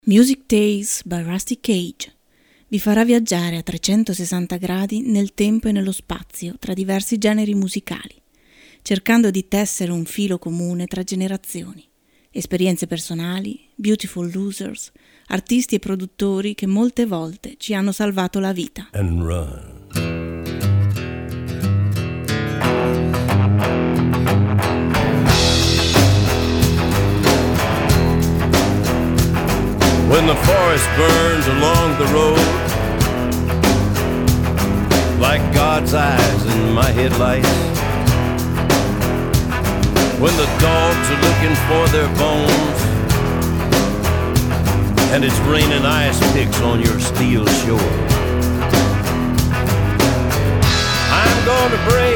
Music Tales by Rusty Cage vi farà viaggiare a 360 gradi nel tempo e nello spazio tra diversi generi musicali, cercando di tessere un filo comune tra generazioni, esperienze personali, beautiful losers, artisti e produttori che molte volte ci hanno salvato la vita. And run. When the forest burns along the road, like God's eyes in my headlights, when the dogs are looking for their bones, and it's raining ice picks on your steel shore, I'm gonna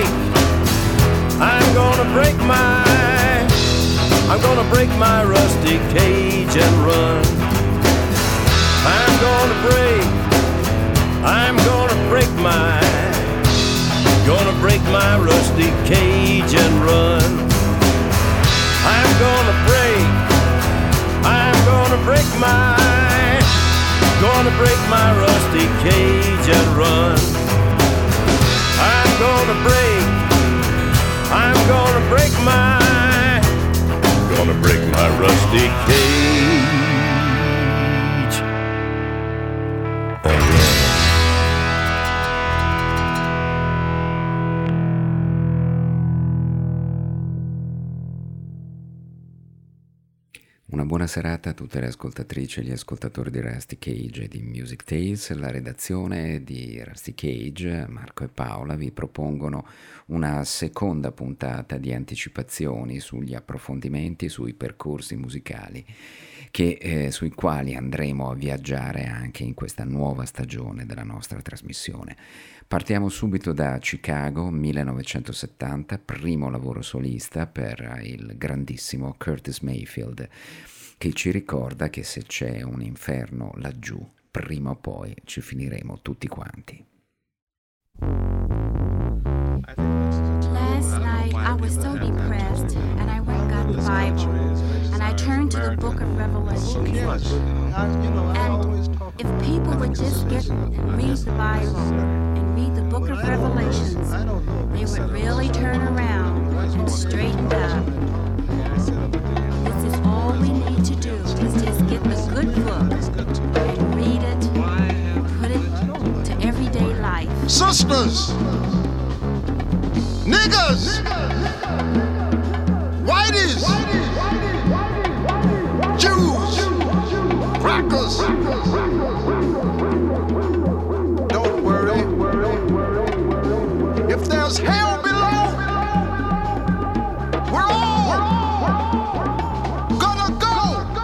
break my rusty cage and run. I'm gonna break my rusty cage and run. I'm gonna break my rusty cage and run. I'm gonna break my rusty cage and run. Una buona serata a tutte le ascoltatrici e gli ascoltatori di Rusty Cage e di Music Tales. La redazione di Rusty Cage, Marco e Paola, vi propongono una seconda puntata di anticipazioni sugli approfondimenti, sui percorsi musicali sui quali andremo a viaggiare anche in questa nuova stagione della nostra trasmissione. Partiamo subito da Chicago, 1970, primo lavoro solista per il grandissimo Curtis Mayfield, che ci ricorda che se c'è un inferno laggiù, prima o poi ci finiremo tutti quanti. Last night I was so depressed and I went and got the Bible and I turned to the book of Revelation. And if people would just get and read the Bible and read the book of Revelations, they would really turn around and straighten out. This is all we need to do, is just get the good book and read it, put it to everyday life. Sisters, niggas, whiteys, Jews, crackers. Don't worry. If there's hell below, we're all gonna go.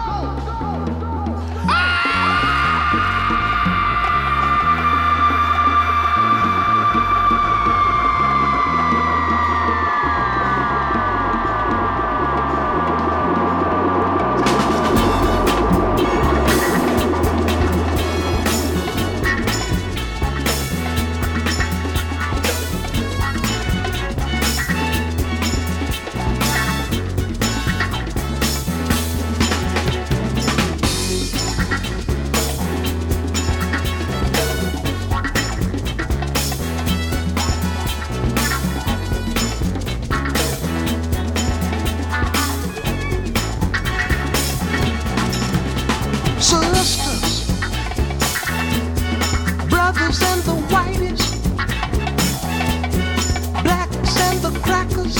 Sisters, brothers and the whiteys, blacks and the crackers,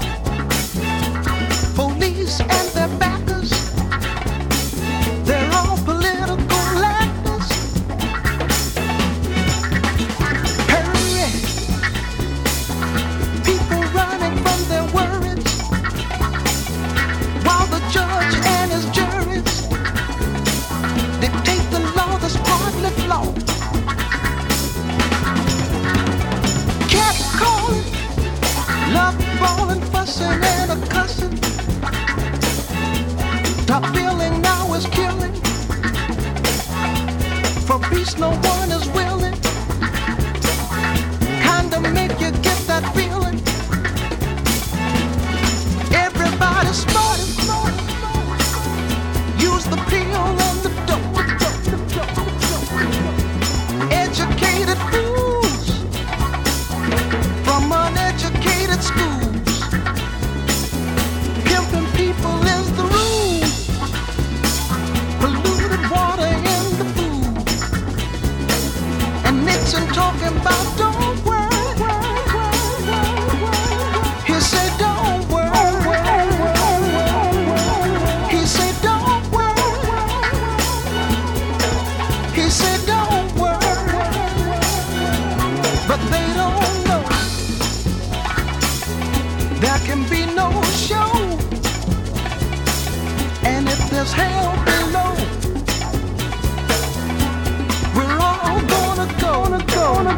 police and their backers, they're all political actors. Hurry, people running from their worries, while the judge and his juries dictate the law that's partly flawed. Cat calling, love falling, fussing and a cussing. Top billing now is killing. For peace no one is willing. Kinda make you get that feeling. Everybody's smart. Use the pill and the dope.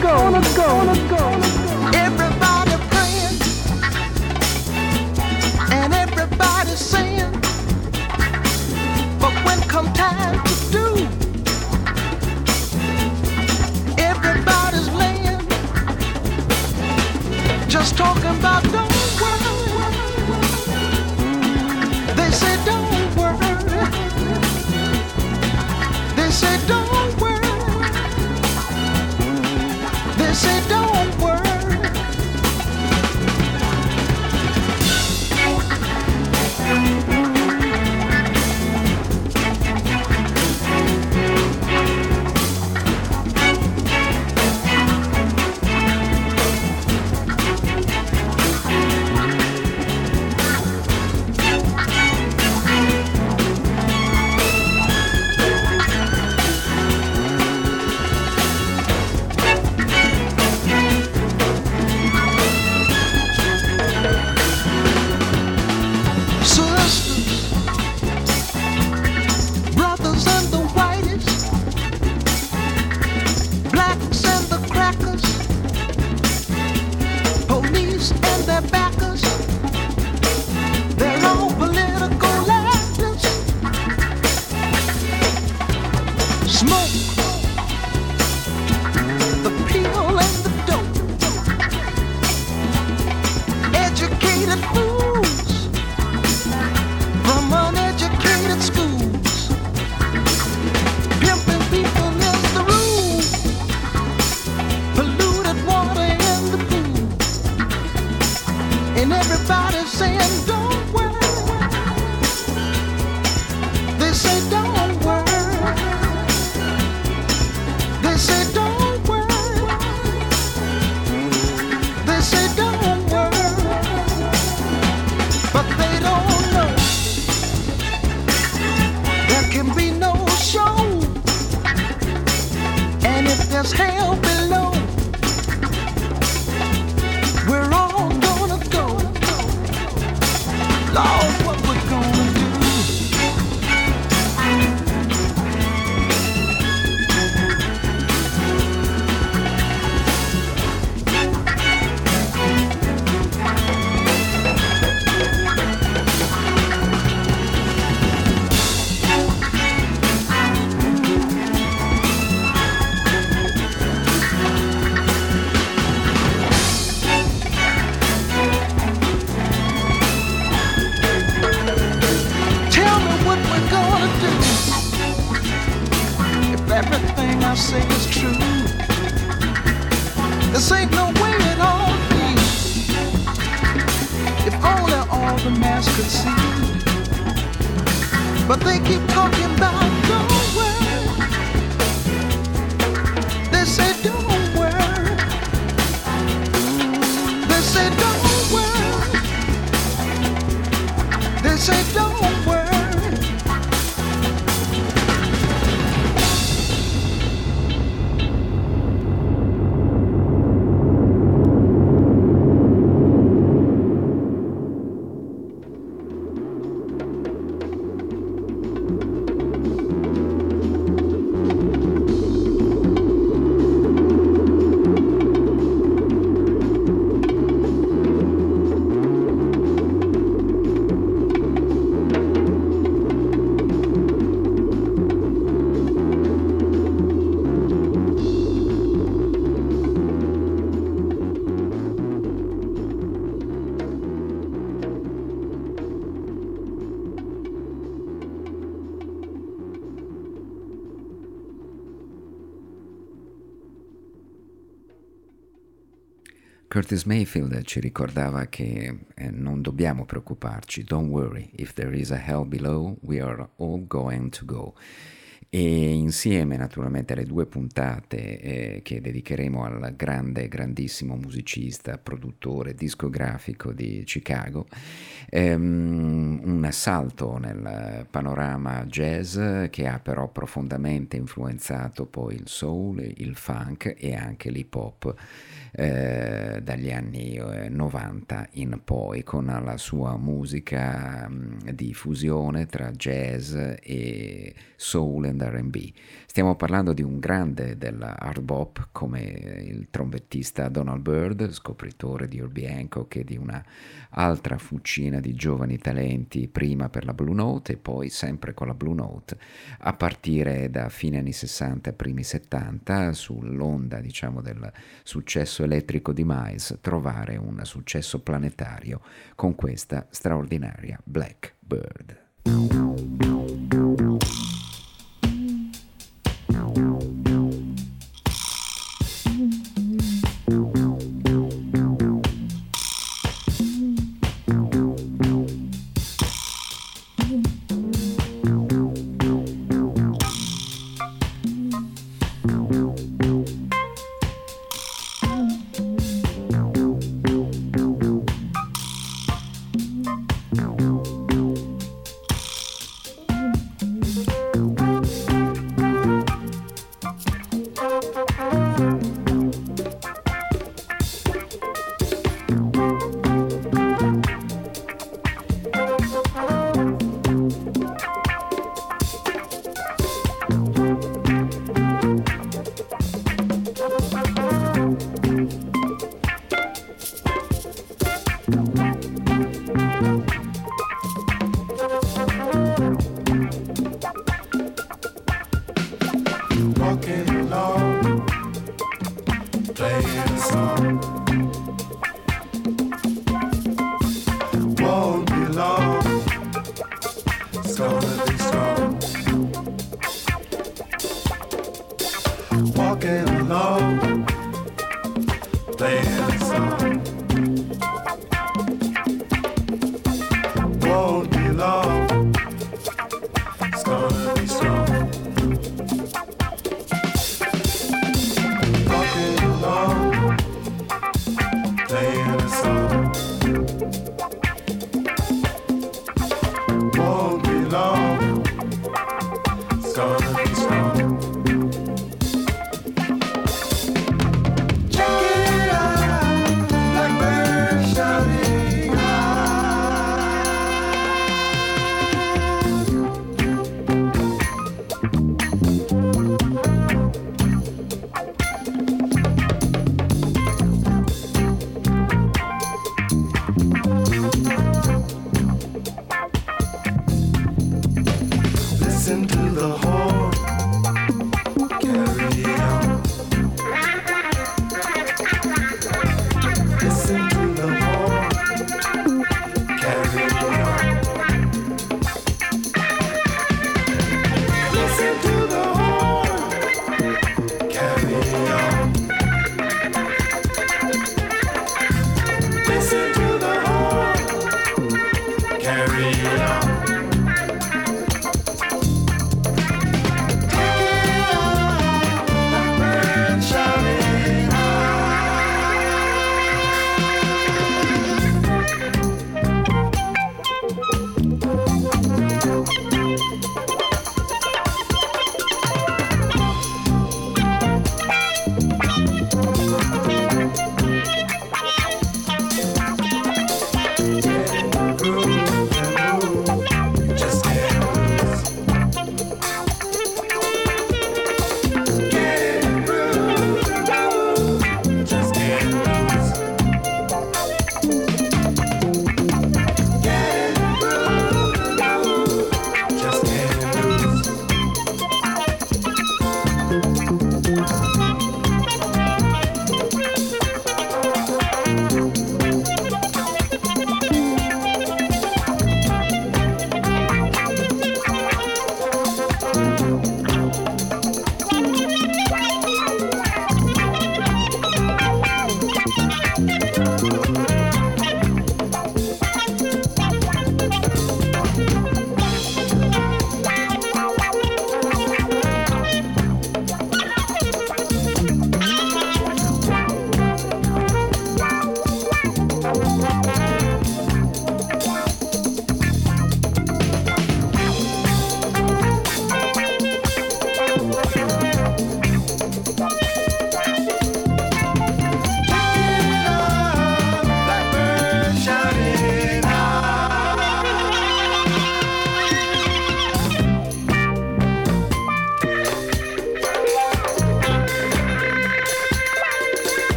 Everybody praying and everybody saying, but when come time to do, everybody's laying, just talking about don't worry. They say don't worry. They say don't worry. They say don't worry. Curtis Mayfield ci ricordava che non dobbiamo preoccuparci, don't worry, if there is a hell below, we are all going to go. E insieme naturalmente alle due puntate che dedicheremo al grandissimo musicista, produttore discografico di Chicago, un salto nel panorama jazz che ha però profondamente influenzato poi il soul, il funk e anche l'hip hop dagli anni 90 in poi, con la sua musica di fusione tra jazz e soul and sound R&B. Stiamo parlando di un grande della hard bop come il trombettista Donald Byrd, scopritore di Herbie Hancock e di una altra fucina di giovani talenti, prima per la Blue Note e poi sempre con la Blue Note, a partire da fine anni 60 primi 70, sull'onda diciamo del successo elettrico di Miles, trovare un successo planetario con questa straordinaria Blackbird. Check it out.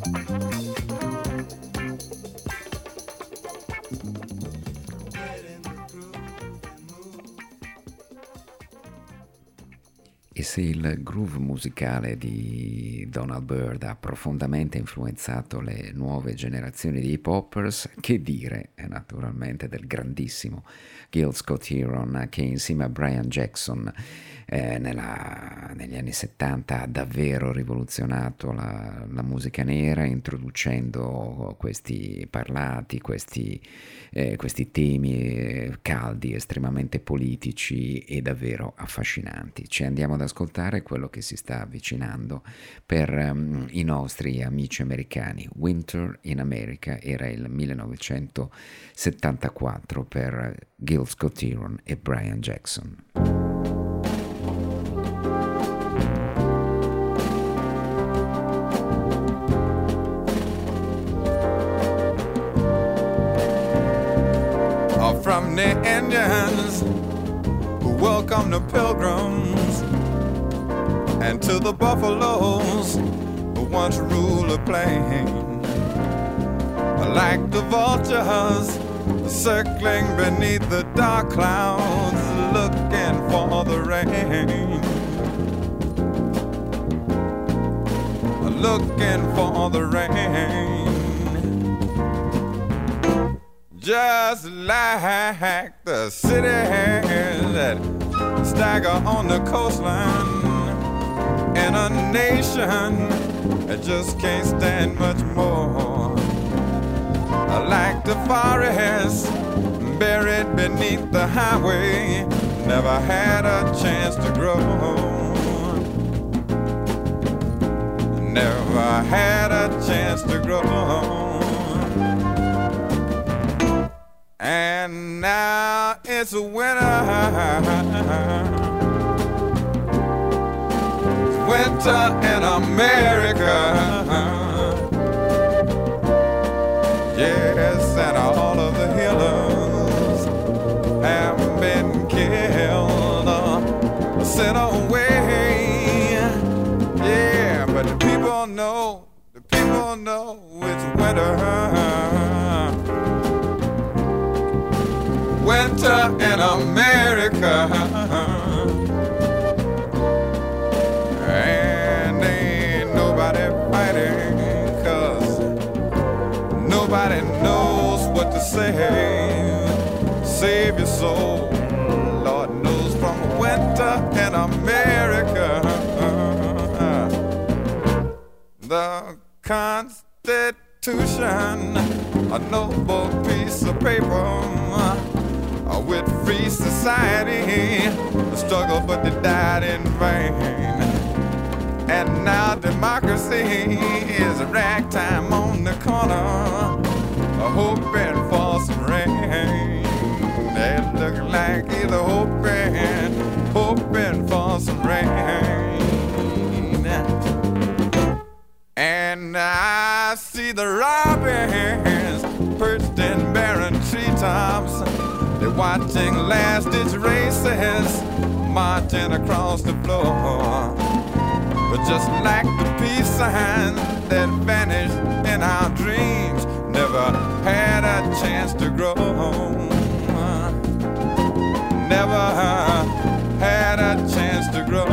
E se il groove musicale di Donald Byrd ha profondamente influenzato le nuove generazioni di hip hoppers, che dire naturalmente del grandissimo Gil Scott-Heron, che insieme a Brian Jackson negli anni 70 ha davvero rivoluzionato la musica nera, introducendo questi parlati, questi temi caldi, estremamente politici e davvero affascinanti. Ci andiamo ad ascoltare quello che si sta avvicinando per i nostri amici americani. Winter in America era il 1974 per Gil Scott-Heron e Brian Jackson. From the Indians who welcome the pilgrims, and to the buffaloes who once ruled the plain. Like the vultures circling beneath the dark clouds, looking for the rain, looking for the rain. Just like the cities that stagger on the coastline, in a nation that just can't stand much more. Like the forest buried beneath the highway, never had a chance to grow, never had a chance to grow. And now it's winter, it's winter in America. Yes, and all of the healers have been killed or sent away. Yeah, but the people know it's winter. Winter in America, and ain't nobody fighting, 'cause nobody knows what to say. Save your soul, Lord knows, from winter in America. The Constitution, a noble piece of paper, with free society, a struggle but they died in vain. And now democracy is a ragtime on the corner, hoping for some rain. They look like either hoping for some rain. And I see the robins perched in barren treetops. They're watching last-ditch races marching across the floor. But just like the peace sign that vanished in our dreams, never had a chance to grow. Never had a chance to grow.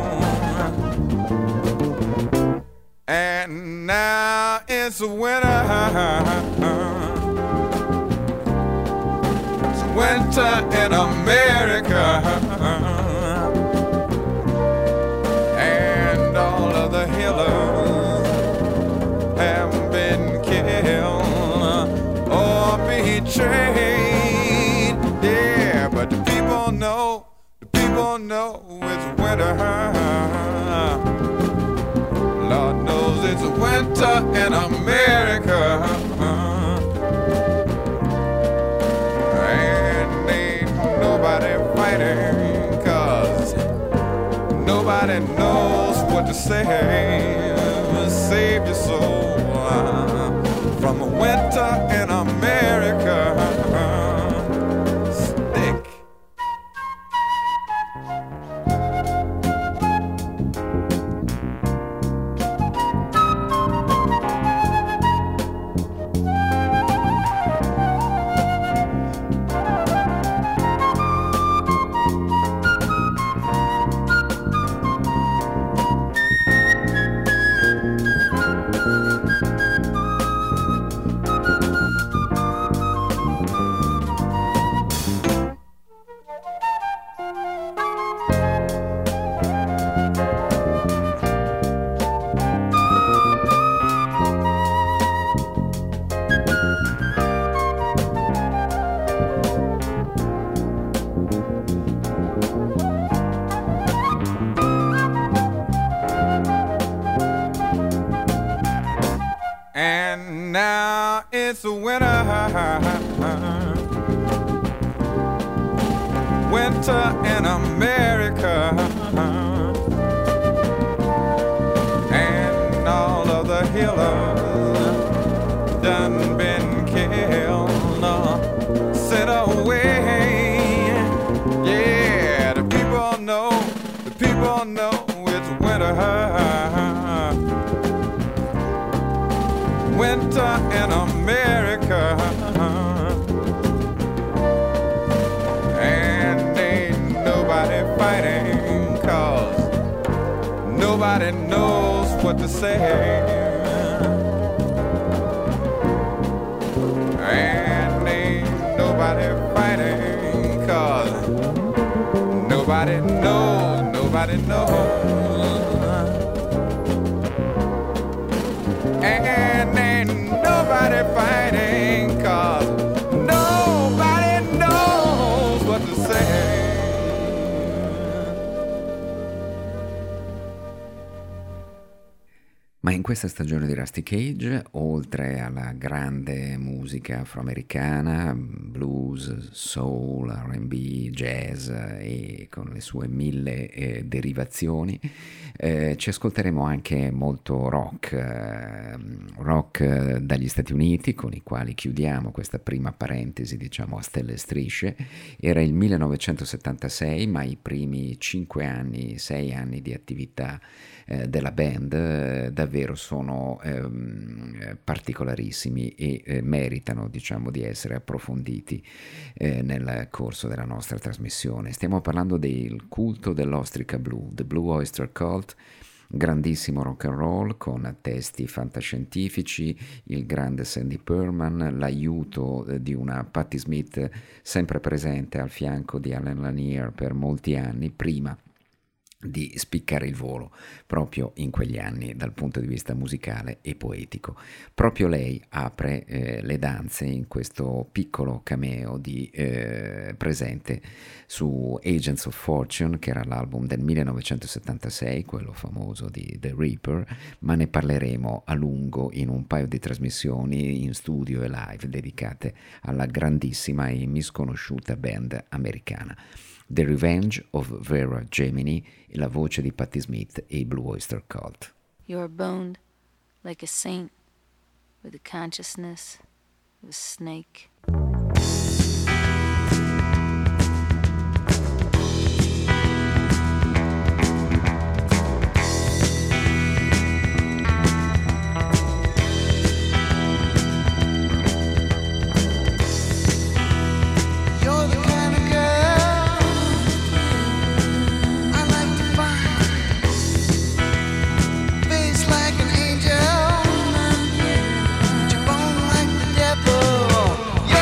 And now it's winter. Winter in America, and all of the healers have been killed or betrayed. Yeah, but the people know it's winter. Lord knows it's winter in America. Nobody fighting, 'cause nobody knows what to say. Save your soul from a winter in America. Stick. And now it's winter. Winter in America. And all of the healers done been killed, sent away. Yeah, the people know it's winter. Winter in America. And ain't nobody fighting, 'cause nobody knows what to say. And ain't nobody fighting, 'cause nobody knows, nobody knows. And ain't nobody fighting, 'cause nobody knows what to say. Ma in questa stagione di Rusty Cage, oltre alla grande musica afroamericana, blues, soul, R&B, jazz e con le sue 1000 derivazioni, ci ascolteremo anche molto rock dagli Stati Uniti, con i quali chiudiamo questa prima parentesi, diciamo a stelle e strisce. Era il 1976, ma i primi 6 anni di attività della band davvero sono particolarissimi e meritano, diciamo, di essere approfonditi nel corso della nostra trasmissione. Stiamo parlando del culto dell'ostrica blu, The Blue Oyster Cult, grandissimo rock and roll con testi fantascientifici, il grande Sandy Pearlman, l'aiuto di una Patti Smith sempre presente al fianco di Alan Lanier per molti anni prima di spiccare il volo proprio in quegli anni dal punto di vista musicale e poetico. Proprio lei apre le danze in questo piccolo cameo presente su Agents of Fortune, che era l'album del 1976, quello famoso di The Reaper, ma ne parleremo a lungo in un paio di trasmissioni in studio e live dedicate alla grandissima e misconosciuta band americana. The Revenge of Vera Gemini, la voce di Patti Smith e i Blue Oyster Cult. You are boned like a saint with the consciousness of a snake. You're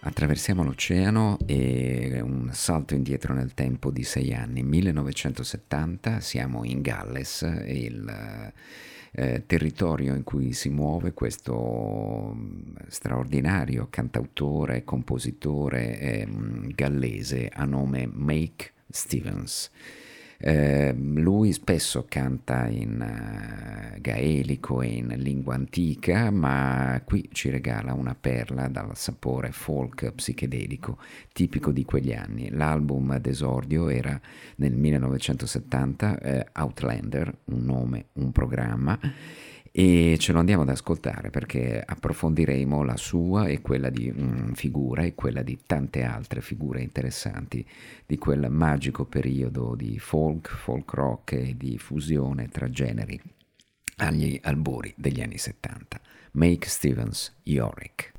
Attraversiamo l'oceano e un salto indietro nel tempo di 6 anni, 1970, siamo in Galles, il territorio in cui si muove questo straordinario cantautore, compositore gallese a nome Mike Stevens. Lui spesso canta in gaelico e in lingua antica, ma qui ci regala una perla dal sapore folk psichedelico tipico di quegli anni. L'album d'esordio era nel 1970, Outlander, un nome, un programma, e ce lo andiamo ad ascoltare perché approfondiremo la sua e quella di figura e quella di tante altre figure interessanti di quel magico periodo di folk rock e di fusione tra generi agli albori degli anni 70. Mike Stevens, Yorick.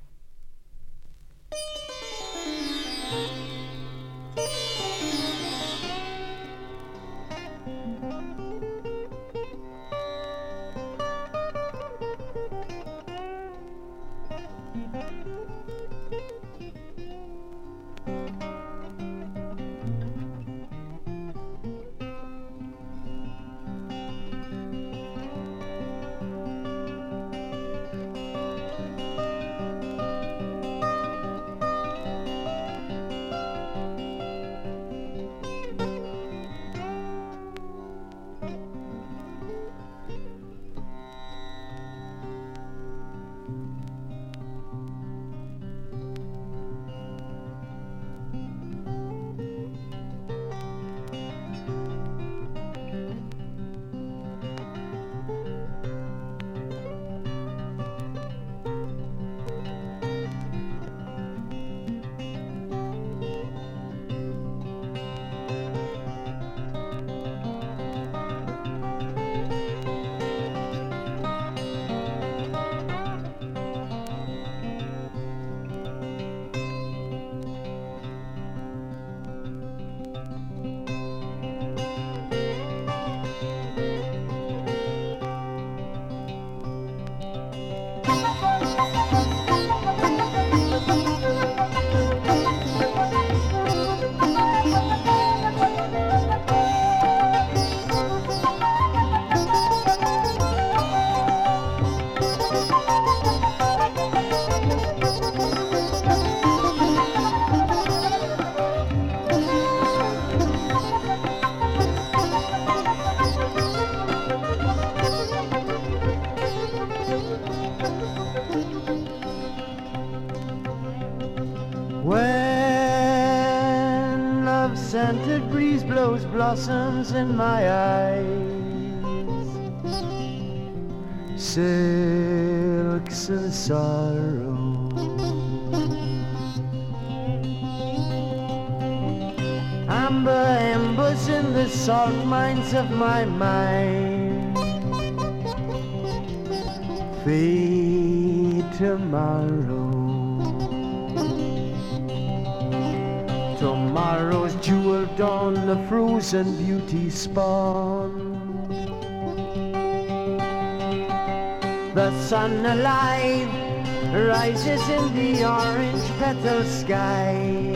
scented breeze blows blossoms in my eyes, silks and sorrow. Amber embers in the salt mines of my mind, fade tomorrow. Tomorrow's jewel dawn, the frozen beauty spawn. The sun alive rises in the orange petal sky.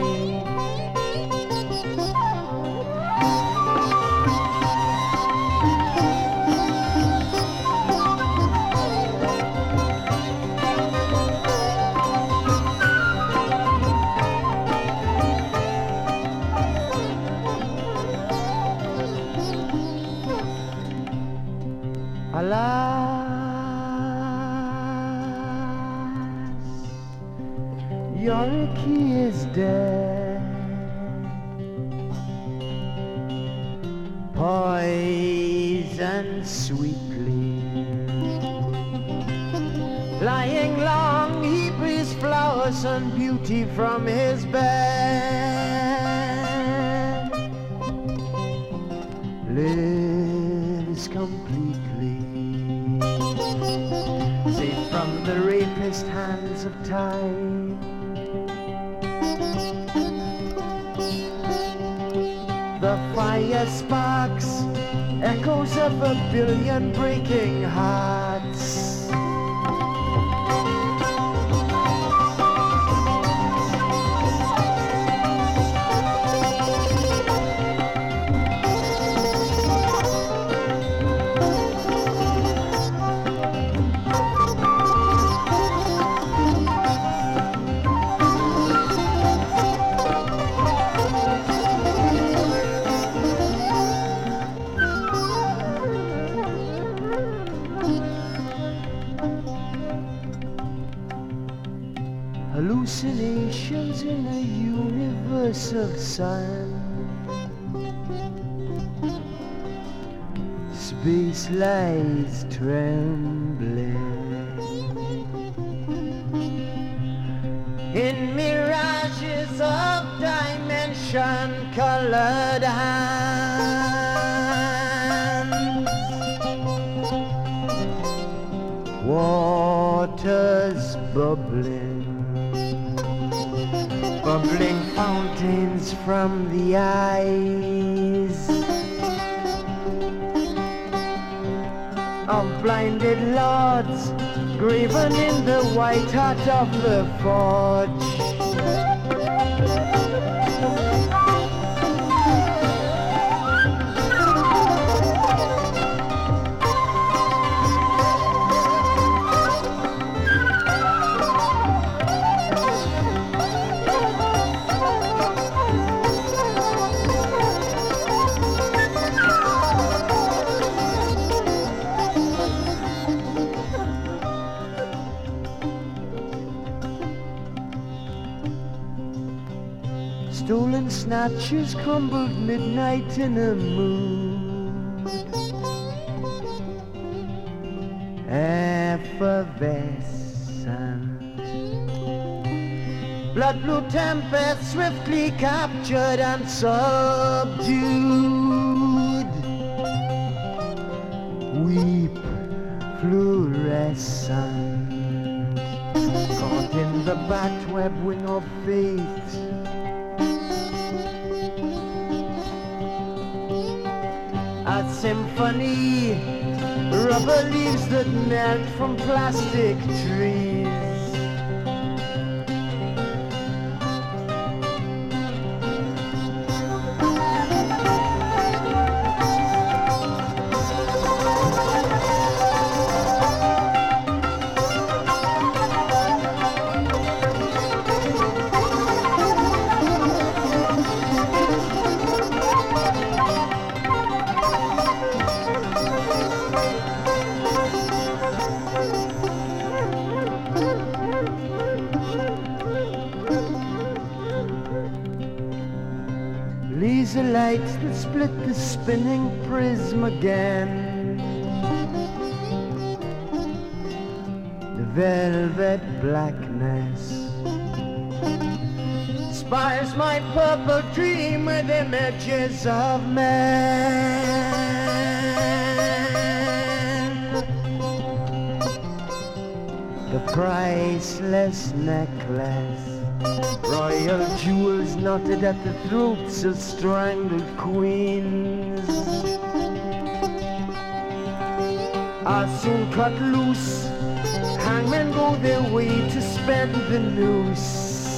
Yorkie is dead, poison sweetly, lying long he breathes flowers and beauty from his bed, lives completely, safe from the rapist hands of time. The fire sparks, echoes of a billion breaking hearts. universal sign. Space lies trembling in mirages of dimension-colored hands. Waters bubbling, bubbling fountains from the eyes of blinded lords, graven in the white heart of the forge. Stolen snatches crumbled midnight in a mood, effervescent. Blood blue tempest swiftly captured and subdued. Weep fluorescent, caught in the batweb wing of fate. A symphony, rubber leaves that melt from plastic trees. Laser lights that split the spinning prism again. The velvet blackness inspires my purple dream with images of men. The priceless necklace, royal jewels knotted at the throats of strangled queens, are soon cut loose. Hangmen go their way to spend the noose.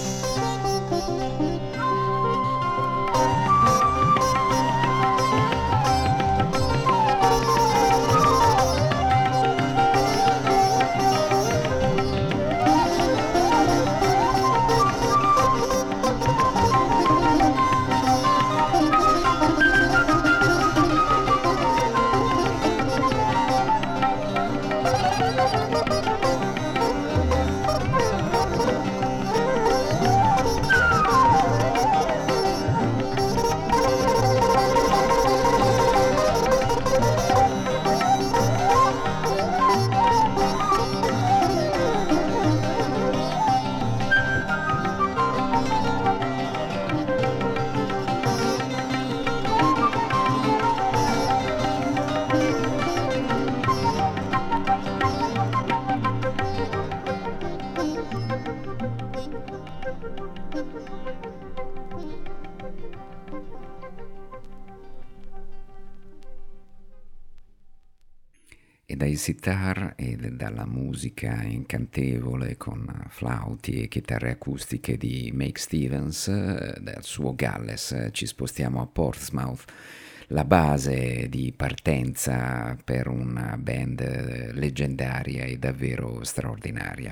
E dai sitar e dalla musica incantevole con flauti e chitarre acustiche di Make Stevens, dal suo Galles ci spostiamo a Portsmouth, la base di partenza per una band leggendaria e davvero straordinaria.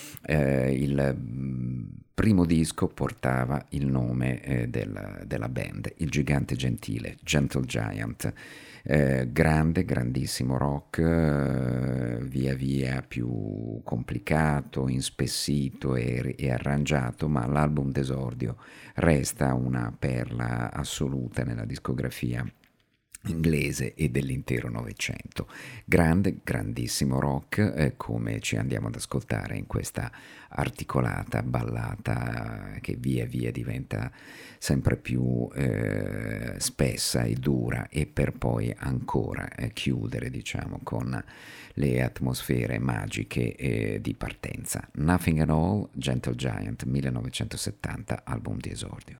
Il primo disco portava il nome della band, Il Gigante Gentile, Gentle Giant. Grandissimo rock, via via più complicato, inspessito e arrangiato, ma l'album d'esordio resta una perla assoluta nella discografia inglese e dell'intero Novecento. Grandissimo rock, come ci andiamo ad ascoltare in questa articolata ballata che via via diventa sempre più spessa e dura, e per poi ancora chiudere, diciamo, con le atmosfere magiche di partenza. Nothing at All, Gentle Giant, 1970, album di esordio.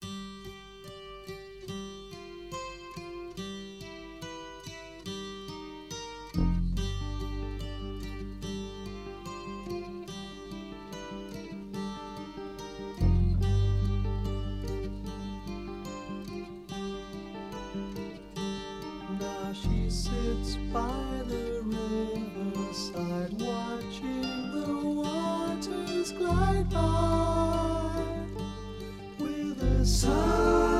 She sits by the riverside, watching the waters glide by with a sigh.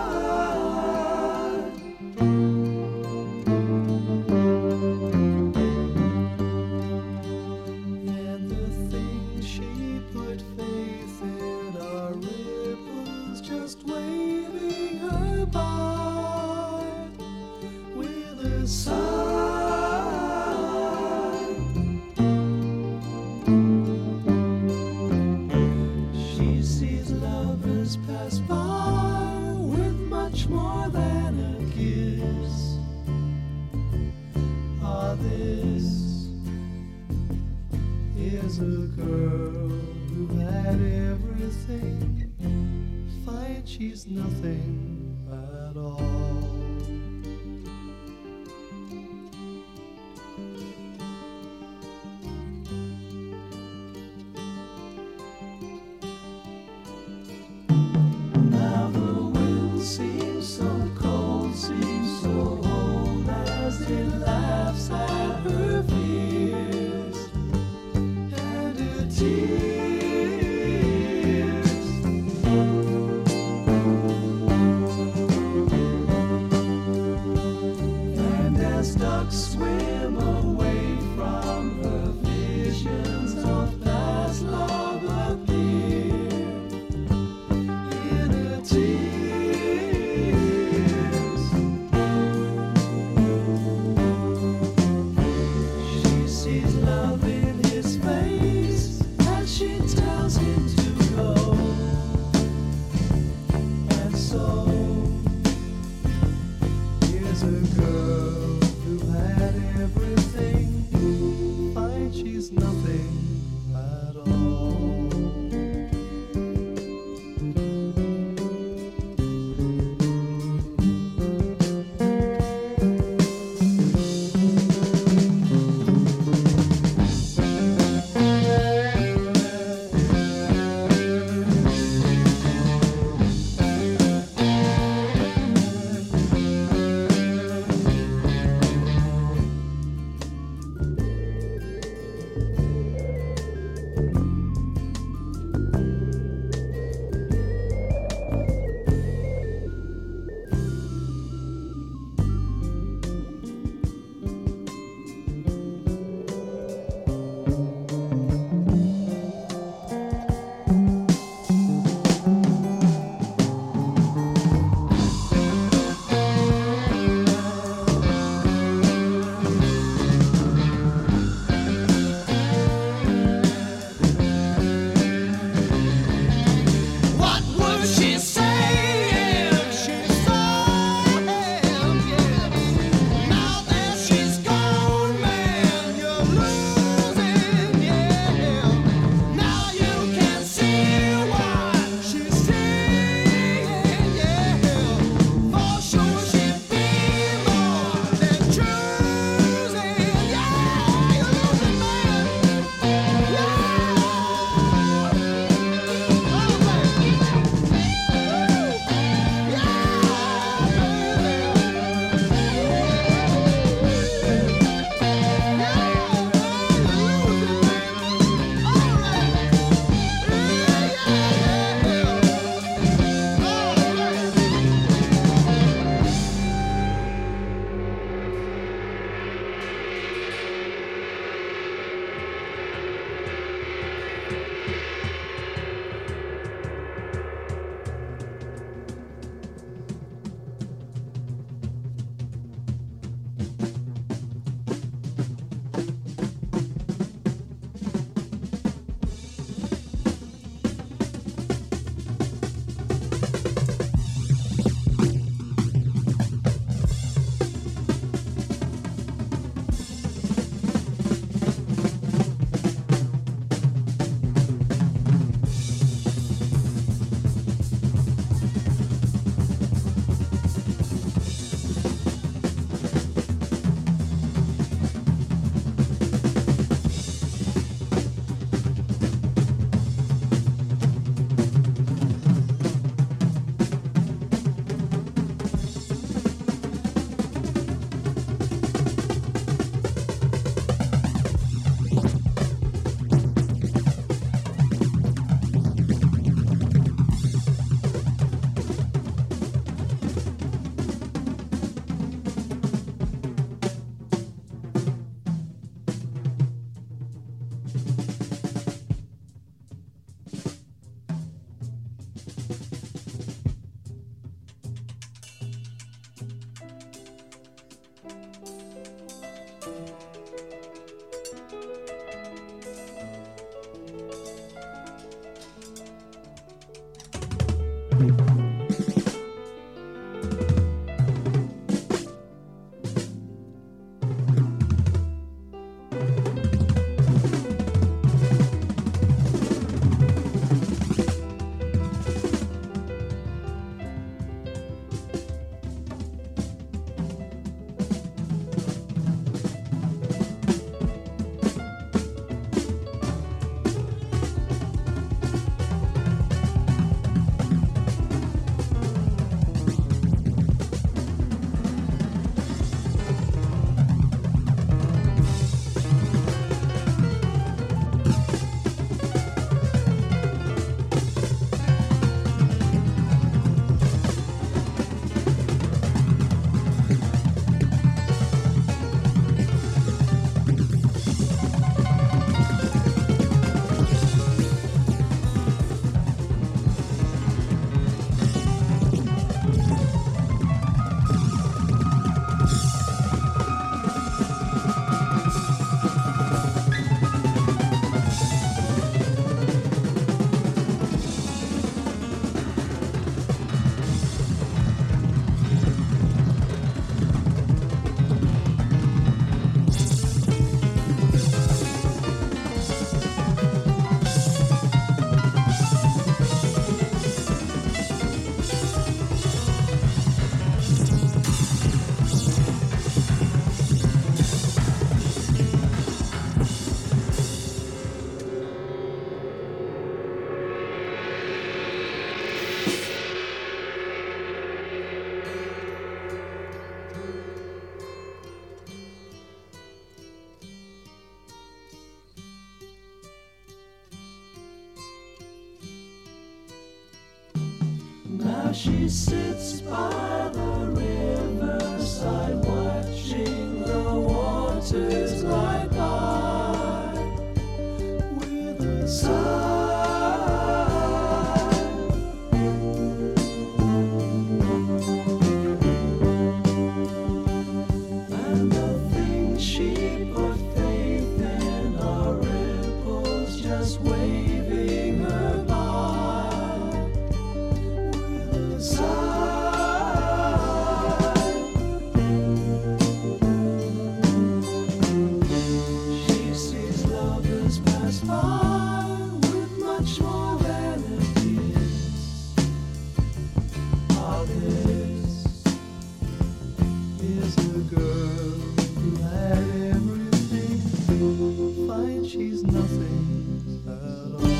And the things she put faith in are ripples just waving her by with a sigh. She sees lovers pass by with much more than a kiss. Ah, this is a girl who had everything, find she's nothing at all. Now the wind seems so cold, seems so old, as it laughs at her fears and her tears. And as ducks swim away from her, visions of past love appear in her tears. She sees love in his face as she tells him to go. And so here's a girl who had everything, finds she's nothing at all. Now she sits by the riverside, watching the waters glide by with a sigh. And the things she put faith in are ripples just waving her by with a sigh. She sees lovers pass by with much more than a kiss. Ah, this is the girl who had everything, finds she's nothing at all.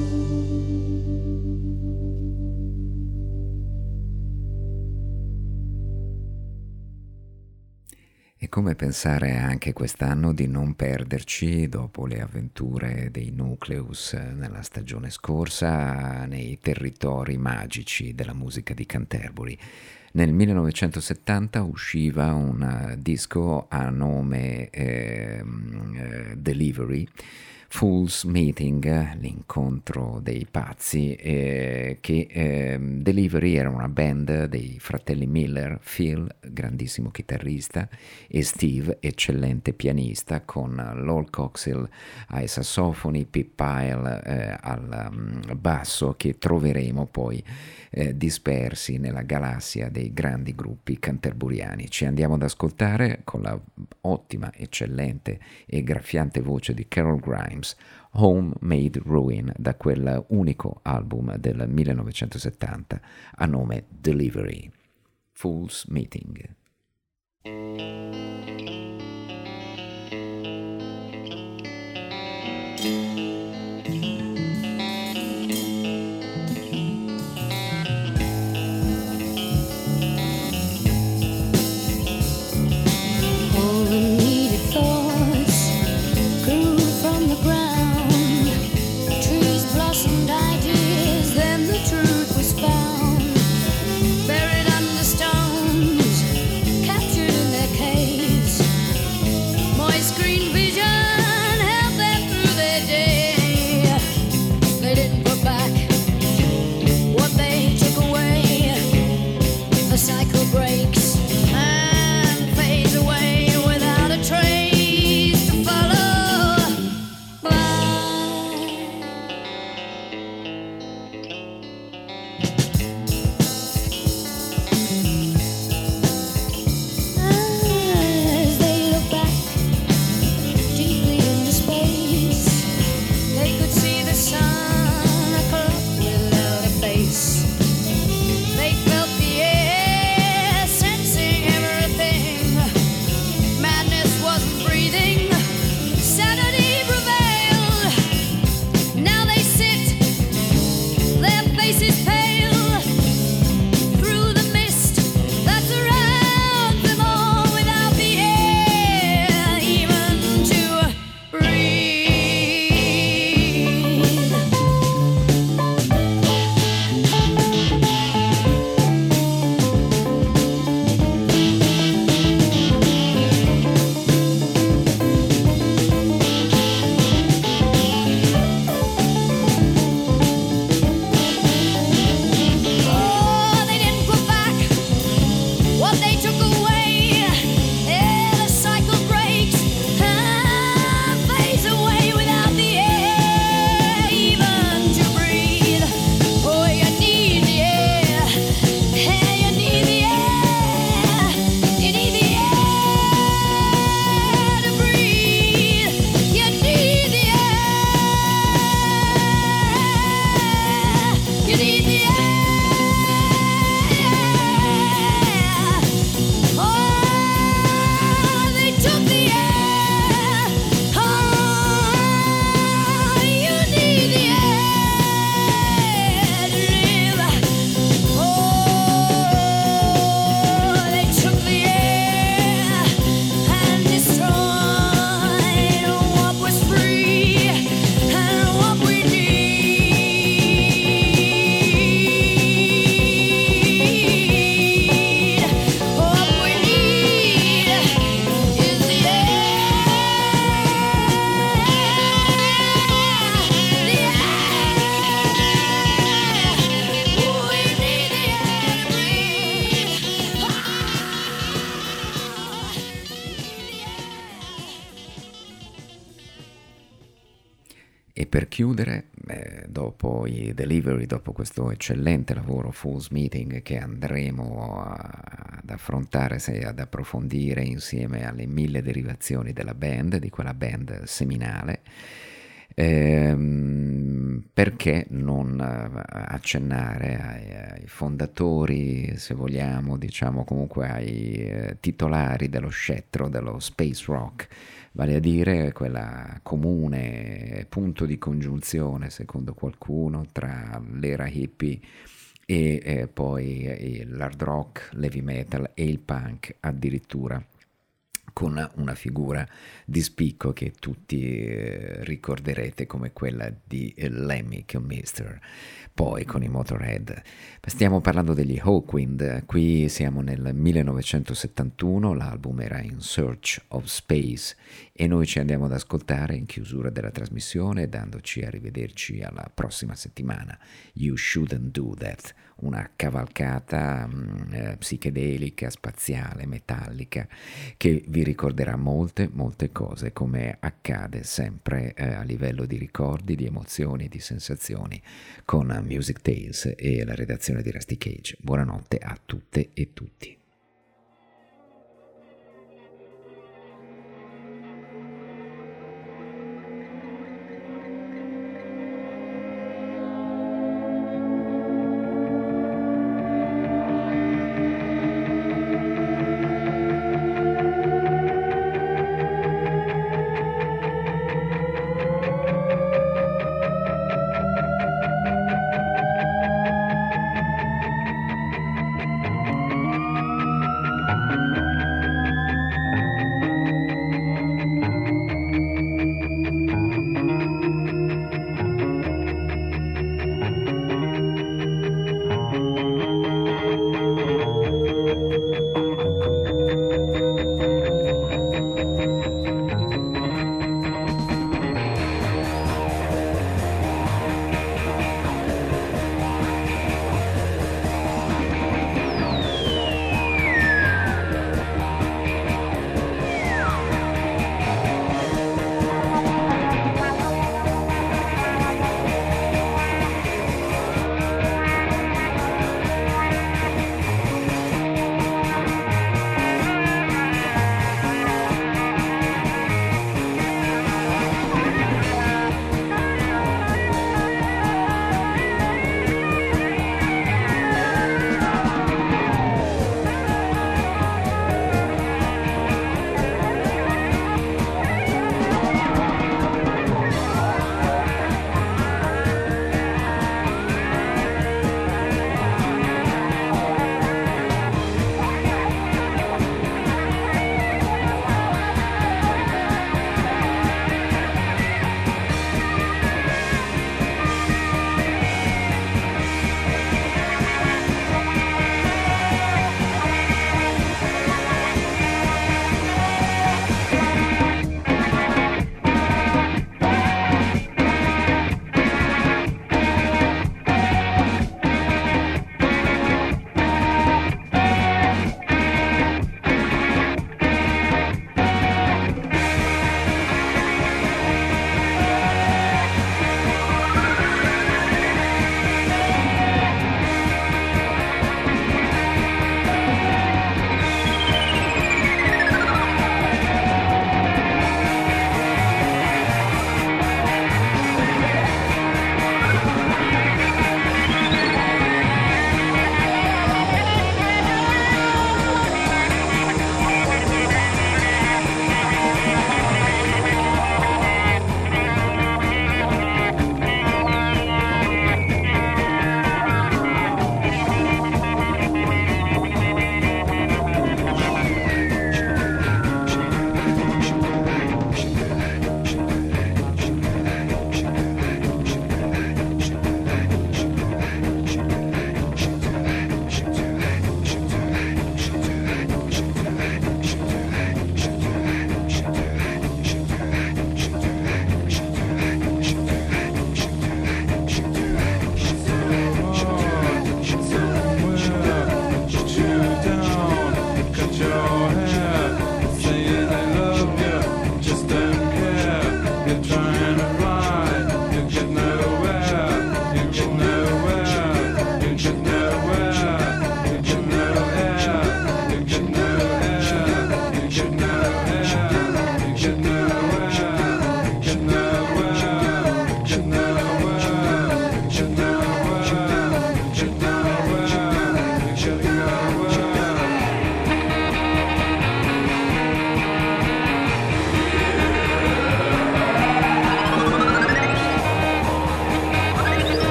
E come pensare anche quest'anno di non perderci, dopo le avventure dei Nucleus nella stagione scorsa, nei territori magici della musica di Canterbury. Nel 1970 usciva un disco a nome Delivery, Fool's Meeting, l'incontro dei pazzi, che Delivery era una band dei fratelli Miller, Phil, grandissimo chitarrista, e Steve, eccellente pianista, con Lol Coxhill ai sassofoni, Pip Pyle al basso, che troveremo poi dispersi nella galassia dei grandi gruppi canterburiani. Ci andiamo ad ascoltare con la ottima, eccellente e graffiante voce di Carol Grimes, Homemade Ruin, da quel unico album del 1970 a nome Delivery, Fool's Meeting. Buried under stones, captured in their cage. per chiudere, dopo i Delivery, dopo questo eccellente lavoro Fool's Meeting che andremo ad affrontare, ad approfondire insieme alle 1000 derivazioni della band, di quella band seminale, perché non accennare ai fondatori, se vogliamo, diciamo comunque ai titolari dello scettro dello space rock, vale a dire quella comune punto di congiunzione, secondo qualcuno, tra l'era hippie e poi l'hard rock, l'heavy metal e il punk addirittura, con una figura di spicco che tutti ricorderete come quella di Lemmy Kilmister, poi con i Motorhead. Stiamo parlando degli Hawkwind, qui siamo nel 1971, l'album era In Search of Space e noi ci andiamo ad ascoltare in chiusura della trasmissione, dandoci a rivederci alla prossima settimana. You Shouldn't Do That, una cavalcata psichedelica, spaziale, metallica, che vi ricorderà molte cose, come accade sempre a livello di ricordi, di emozioni e di sensazioni con Music Tales e la redazione di Rusty Cage. Buonanotte a tutte e tutti.